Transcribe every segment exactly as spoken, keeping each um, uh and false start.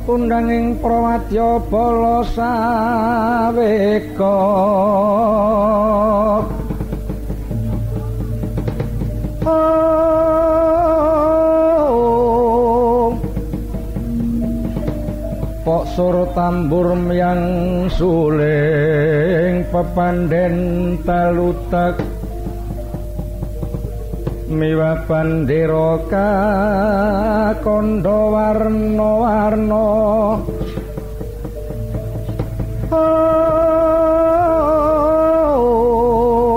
undanging prawadya bala saweka oh pok sur tambur yang suling pepanden talutak miwa bandera kakandha warna-warna oh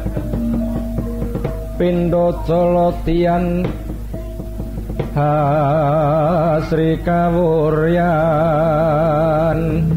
pindha colatian hasri kawuryan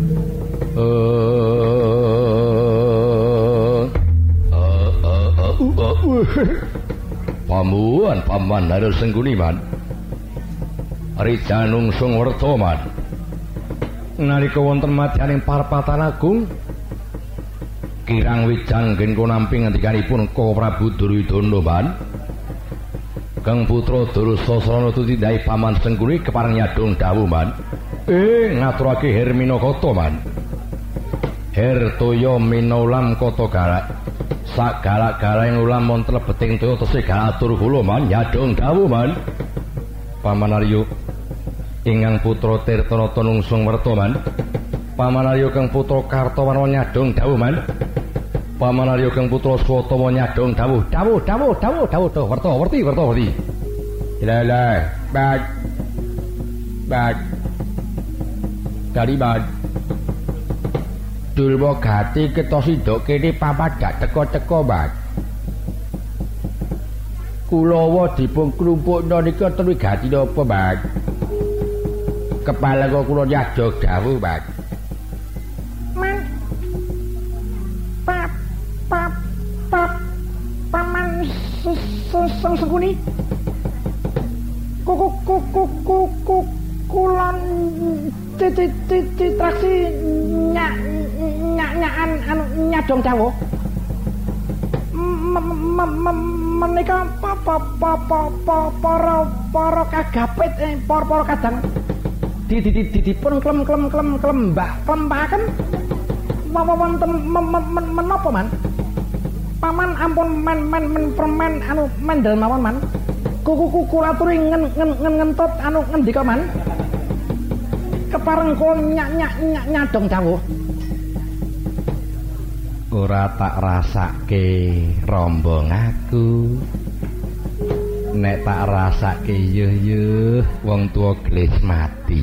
oh oh oh oh pamuan paman harus sengguni man rijanungsung werta man nalika wonten madyaning parpatan agung kirang wijanggen konampi ngendikanipun Ka Prabu Duryudana man Kang putra Dursasana tutindai paman sengguni kepareng nyadong dawuh man eh ngaturake Herminakata man Hertoya minaulam kata galak sak galak-galak ulam montel beting toya tesih galatur kula man nyadong dawuh man Paman Arya ingkang putra Tirtanata nungsung werta man Paman Arya kang putra Kartawarma nyadong dawuh man Paman Arya kang putra Swatama nyadong dawuh dawuh dawuh dawuh dawuh dawuh werta werti werta werti ilalah bad bad kali bad Durwa Gati kita sidok kene papat gak teko-teko bad Kulawa dipun klumpukna nika Durwa Gati napa bad kepala kok kula nyadong dawuh bad man pap pap pap paman sengguni kuku kuku kuku kulon titraksi nyak nyak nyakan anu nyadong dawuh menika apa para para kagapit para kadang di di di dipun klem klem klem klembak klembaken wonten menapa man paman ampun men men men permen anu mendel mawon man kuku kuku laturi ngen ngen ngentut anu ngendika man kepareng kula nyak nyak nyak nyadong dawuh ora tak rasake rombong aku nek tak rasake yuh-yuh wong tuwa gelis mati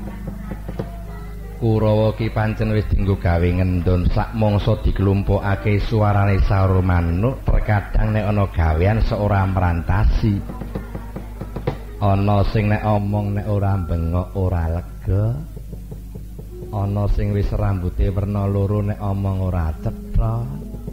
Kurawa ki pancen wis dienggo gawe ngendon sak mangsa diklumpukake suarane saur manuk terkadang nek ana gawean seora merantasi ana sing nek omong nek ora bengok ora lega ana sing wis rambuté werna loro nek omong ora cetha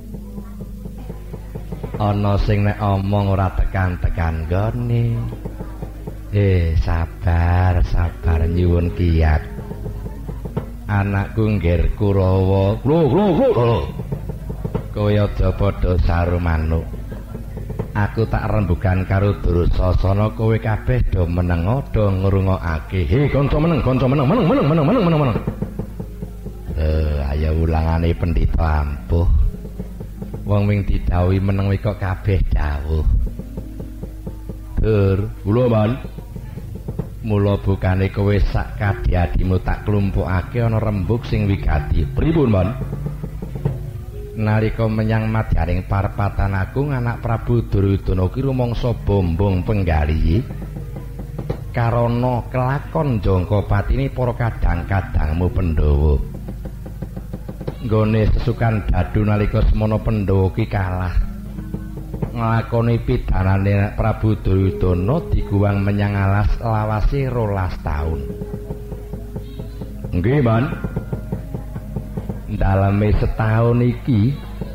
ana sing nek omong ora tekan-tekan gone eh sabar sabar nyuwun kiyat anakku ngger Kurawa lho lho lho kowe aja padha saru manuk aku tak rembugan karo Dursasana kowe kabeh do meneng do ngrungokake he kanca meneng kanca meneng meneng meneng meneng meneng meneng meneng eh ayo ulangane pendhita ampuh wong wing didhawuhi meneng kok kabeh dawuh Dur kula man mula bukane kowe sak kadhi-adhimu tak klumpukake ana rembug sing wigati pripun man nalika menyang madyaning parpatan agung anak Prabu Duryudana ki rumangsa bombong penggali karana kelakon jangka patine para kadang-kadangmu Pandhawa nggone sesukan dadu nalika semana Pandhawa ki kalah nglakoni pidanane Prabu Duryudana diguwang menyang alas lawase rolas taun. Nggih, Man. Daleme setahun iki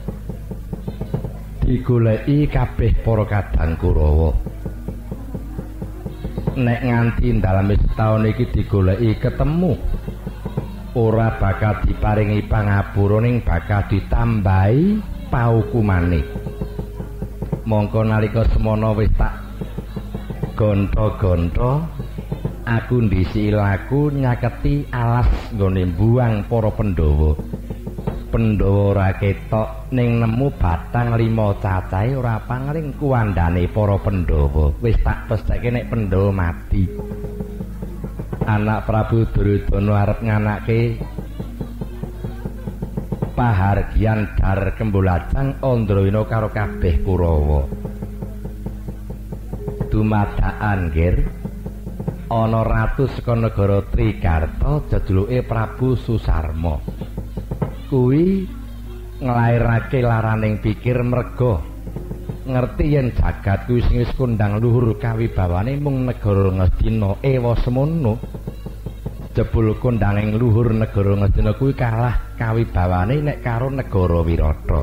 digoleki kabeh para kadang Kurawa. Nek nganti daleme setahun iki digoleki ketemu ora bakal diparingi pangapura ning bakal ditambahi paukumane. Mongko nalika semana wis tak gonta-gonta aku ndisi laku nyaketi alas nggone buang para Pandhawa. Pandhawa ora ketok ning nemu batang lima cacahe ora pangling kuwandane para Pandhawa. Wis tak pestheke nek Pandhawa mati. Anak Prabu Duryudana arep nganake pahargyan Dar Kembolajang Andrayana karo kabeh Kurawa. Dumadakan nggir ana ratu saka negara Trigarta jejuluke Prabu Susarma. Kuwi nglairake laraning pikir merga ngerti yen jagat kuwi sing wis kondang luhur kawibawane mung negara Ngastina ewa semono. Jebul kondanging luhur negara Ngastina kuwi kalah kawibawane nek karo negara Wirata.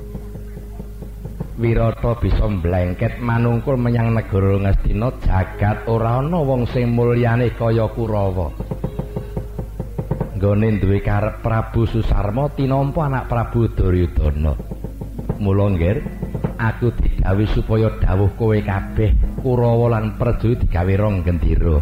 Wirata bisa mblengket manungkul menyang negara Ngastina, jagat ora ana wong sing mulyane kaya Kurawa. Nggone duwe karep Prabu Susarma tinampa anak Prabu Duryudana. Mula nggir, aku didhawuhi supaya dawuh kowe kabeh Kurawa lan Praja digawe rong gendera.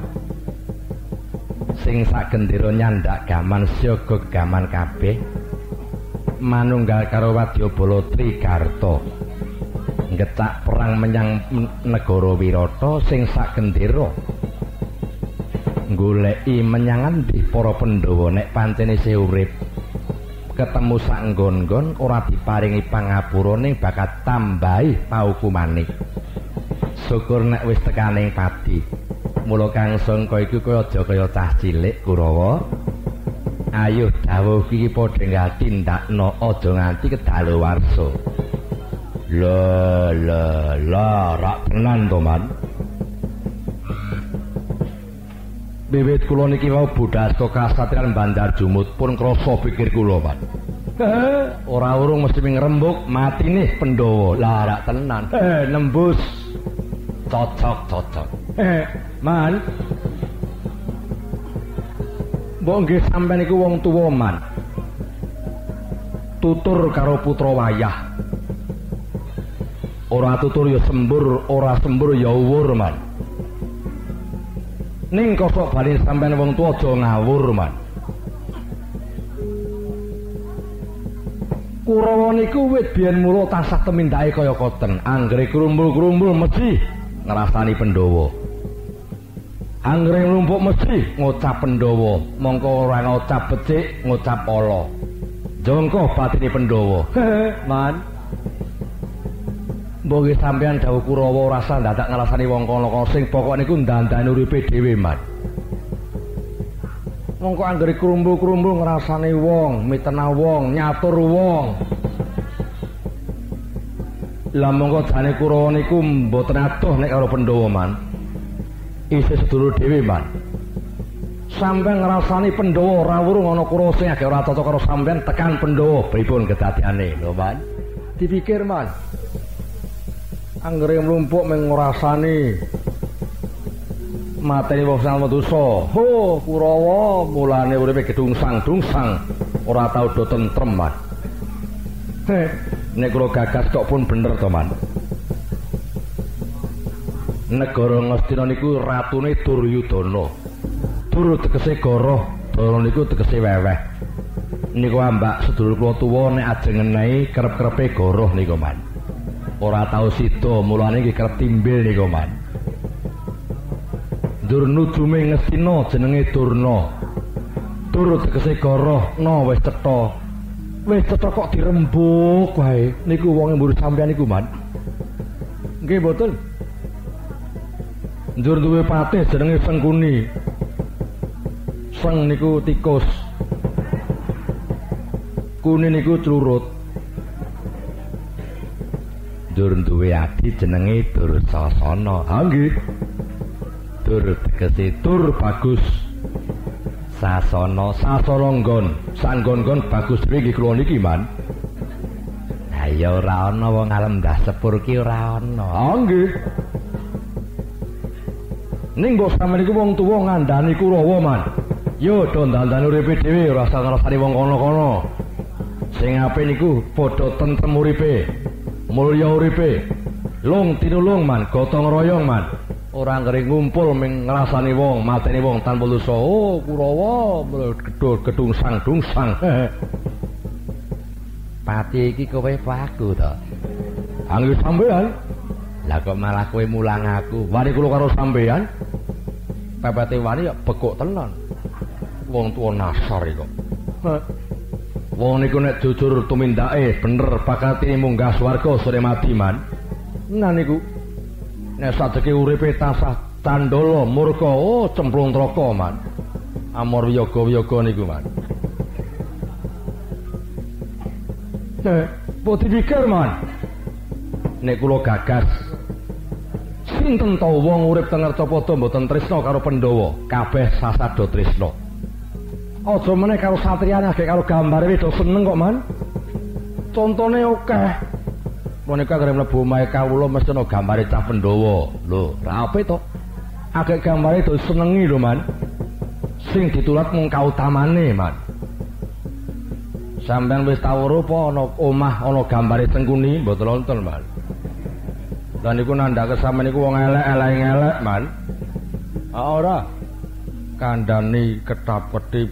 Sing sak gendera nyandak gaman siaga gaman kabeh manunggal karo Wadyabala Trigarta. Ngecak perang menyang negara Wirata sing sak gendera goleki menyang endi para Pandhawa nek pancen isih urip ketemu sak nggon-nggon ora diparingi pangapura ning bakat tambahi paukumane. Syukur nek wis tekaning pati. Mula Kang Sangka iku kaya aja kaya cah cilik Kurawa. Ayo dawuh iki padha nggal tindakno aja nganti kedaluwarsa. La la la rak tenan to man. Wiwit kula niki wau budhasta kasatriyan Bandar Jumut pun krasa pikir kula man. Eh, ora urung mesti ngrembug matine Pandhawa. Lah rak tenan. Eh, nembus. Cocok cocok. Eh, man. Mbok nggih sampeyan iku wong tuwa man. Tutur karo putra wayah. Ora tutur ya sembur, ora sembur ya uwur man. Ning kosok bali sampeyan wong tuwa aja ngawur man. Kurawa niku wit biyen mula tansah temindake kaya koten, anggere krumbul-krumbul mesti ngrasani Pandhawa. Anggere nglumpuk mesti ngucap Pandhawa, mongko ora ngucap becik, ngucap ala. Jongko batine Pandhawa. Man. Mbok sampeyan dawuh Kurawa ora usah dadak ngrasani wong kono sing pokoke niku ndandani uripe dhewe, man. Mongko anggere krumbul-krumbul ngrasani wong, mitena wong, nyatur wong. Lah mongko jane Kurawa niku mboten adoh nek karo Pandhawa, man. Isih sedulur dhewe, man. Sampeyan ngrasani Pandhawa ora wurung ana Kurawa sing agek ora cocok karo sampeyan tekan Pandhawa, pripun kedadiane, lho, man. Dipikir, man. Anggere mlumpuk mung ngrasani mateni wong sing dosa. Ho, Kurawa mulane uripe gedungsang-dungsang, ora tau do tentrem, man. Heh, nek kula gagas kok pun bener to, man. Negara Ngastina niku ratune Duryudana. Dur tegese goroh, Dara niku tegese weweh. Niku ambak sedulur kula tuwa nek ajeng ngenehi kerep-kerepe goroh niku, man. Ora tau sida, mulane iki kerep timbil niku, man. Dur nujume Ngastina jenenge Durna. Dur tegese goroh, no wis cetha. Wis cetha kok dirembug wae. Niku wong mburu sampeyan niku, man. Nggih mboten. Njur duwe patih jenenge Sengkuni. Seng niku tikus. Kuni niku clurut. Dur duwe adi jenenge Dursasana. Ha nggih. Dur tegese tur bagus. Sasana sasana nggon. Sanggon-nggon bagus dhewe nggih kula niki, man. Ha ya ora ana wong alam ndah sepur ki ora ana. Ha nggih. Ning mbok sampeyan iku wong tuwa ngandani Kurawa, man. Yo do ndandani uripe dhewe ora usah ngrasani wong kono-kono. Sing apik niku padha tentrem uripe. Mulya uripe. Lung tinulung, man, gotong royong, man. ora ngeri ngumpul ming ngrasani wong, mateni wong tanpa dosa. Oh, Kurawa gedhe gedungsang-dungsang. Pati iki kowe apa aku to? Angger sampean. Lah kok malah kowe mulang aku. Wani kula karo sampean. Pepete wani ya bekuk tenan. Wong tuwa nasar iki kok. Wong niku nek jujur tumindake bener bakatine munggah swarga sore mati man. Nah niku nek sadeke uripe tasah candala murka oh cemplung neraka man. Amor wiyaga-wiyaga niku man. Nek putih pikir man. Nek kula gagas sinten to wong urip teng Ngercapada mboten tresna karo Pandhawa, kabeh sasada tresna. Aja meneh karo satriyane agek karo gambare wis seneng kok man. Contone akeh. Menika kare mlebu omahe kawula mesti ana gambare cah Pandhawa. Lho, ra apik to. Agek gambare do senengi lho man. Sing ditulat mung kautamane man. Sampeyan wis tau weruh apa ana omah ana gambare Sengkuni mboten wonten man. Lah niku nandhake sampeyan niku wong elek-elek ngelek man. Ah ora. Kandhani ketap-ketip.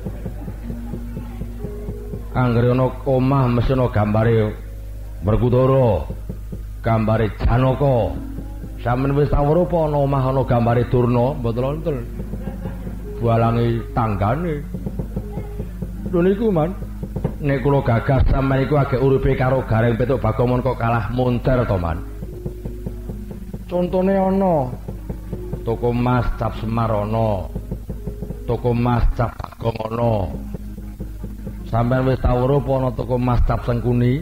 Anggere ana omah mesti ana gambare Werkudara, gambare Janaka. Sampeyan wis tau weruh apa ana omah ana gambare Durna mboten wonten. Bualangi tanggane. Lho niku man. Nek kula gagas sampeyan iku agek uripe karo Gareng Petuk Bagomon kok kalah moncer to man. Contone ana toko emas cap Semar ana. Toko emas cap Bagong ana. Sampeyan wis tau weruh apa ana toko emas cap Sengkuni?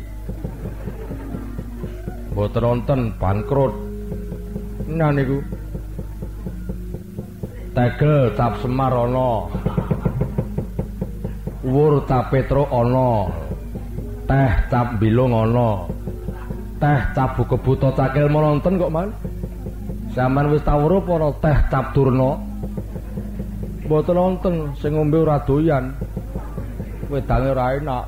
Mboten wonten, bangkrut. Nah niku. Tegel cap Semar ana. Wur cap Petruk ana. Teh cap Bilung ana. Teh cap Bukebuta Cakil wonten kok man. Sampeyan wis tau weruh apa teh cap Durna? Mboten wonten, sing ngombe ora doyan. Wedange ora enak.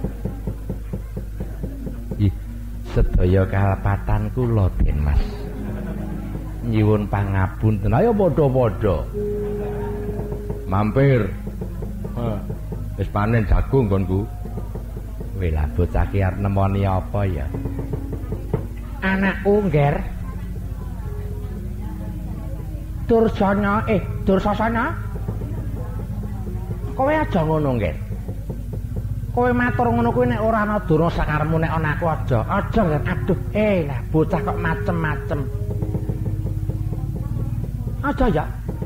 Ih, sedaya kalepatan kula Den Mas. Nyuwun pangapunten. Ayo padha-padha. Mampir. Heh. Wis panen jagung konku. Kowe lah bocah ki arep nemoni apa ya? Anakku, Ngger. Dursana, eh, Dursasana. Kowe aja ngono, Ngger. Kowe matur ngono kuwi nek ora ana durna sakarepmu nek ana aku aja. Aja, Ngger. Aduh, eh lah bocah kok macem-macem. Aja ya.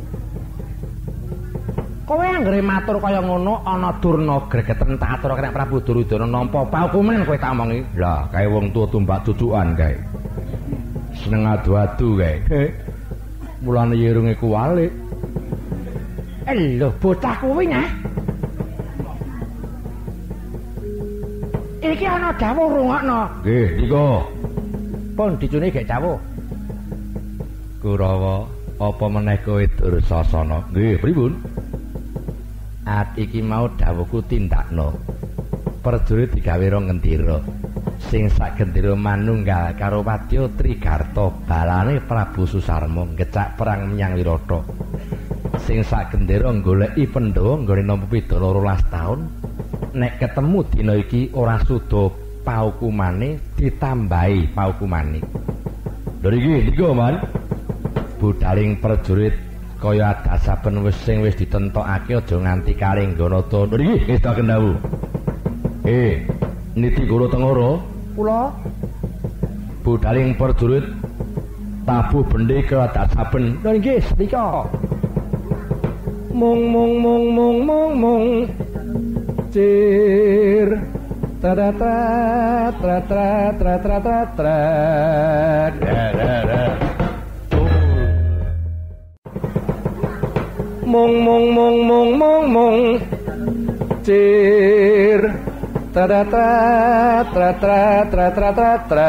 Kowe anggere matur kaya ngono ana durna gregeten tak atur nek Prabu Duryudana nampa paukuman kowe tak omongi. Lah, kae wong tuwa tumbak cucukan kae. Seneng adu-adu kae. Mulane yerunge kuwalik. Eh lho bocah kuwi nyah. Iki ana dawuh rungokno. Nggih, nika. Pun dicune gek dawuh. Kurawa, apa meneh kowe Dursasana? Nggih, pripun? At iki mau dawuhku tindakno. Prajurit digawe rong gendera. Sing sak gendera manunggal karo Wadya Trigarta balane Prabu Susarma ngecak perang menyang Wirata. Sing sak gendera goleki Pandhawa nggone nampa pidana rolas taun. Nek ketemu dina iki ora suda paukumane ditambahi paukumane. Lha iki niku man. Budaling prajurit kaya adat saben wis sing wis ditentokake aja nganti karing Ganata. Lha iki wis tak kendhawu. Eh, niti Guru Tengara, kula budaling prajurit tabuh bendhe kaya adat saben. Lha nggih senika. Mung mung mung mung mung mung cir tra tra tra tra tra tra tra tra mung mung mung mung mung mung cir tra tra tra tra tra tra tra tra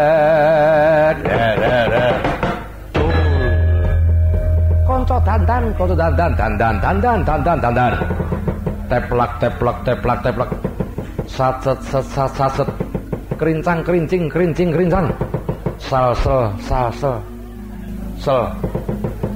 kanca dandan kanca dandan dandan dandan dandan dandan teplak teplak teplak teplak saset saset saset kerincang kerincing kerincing kerincang sal sel sal sel sel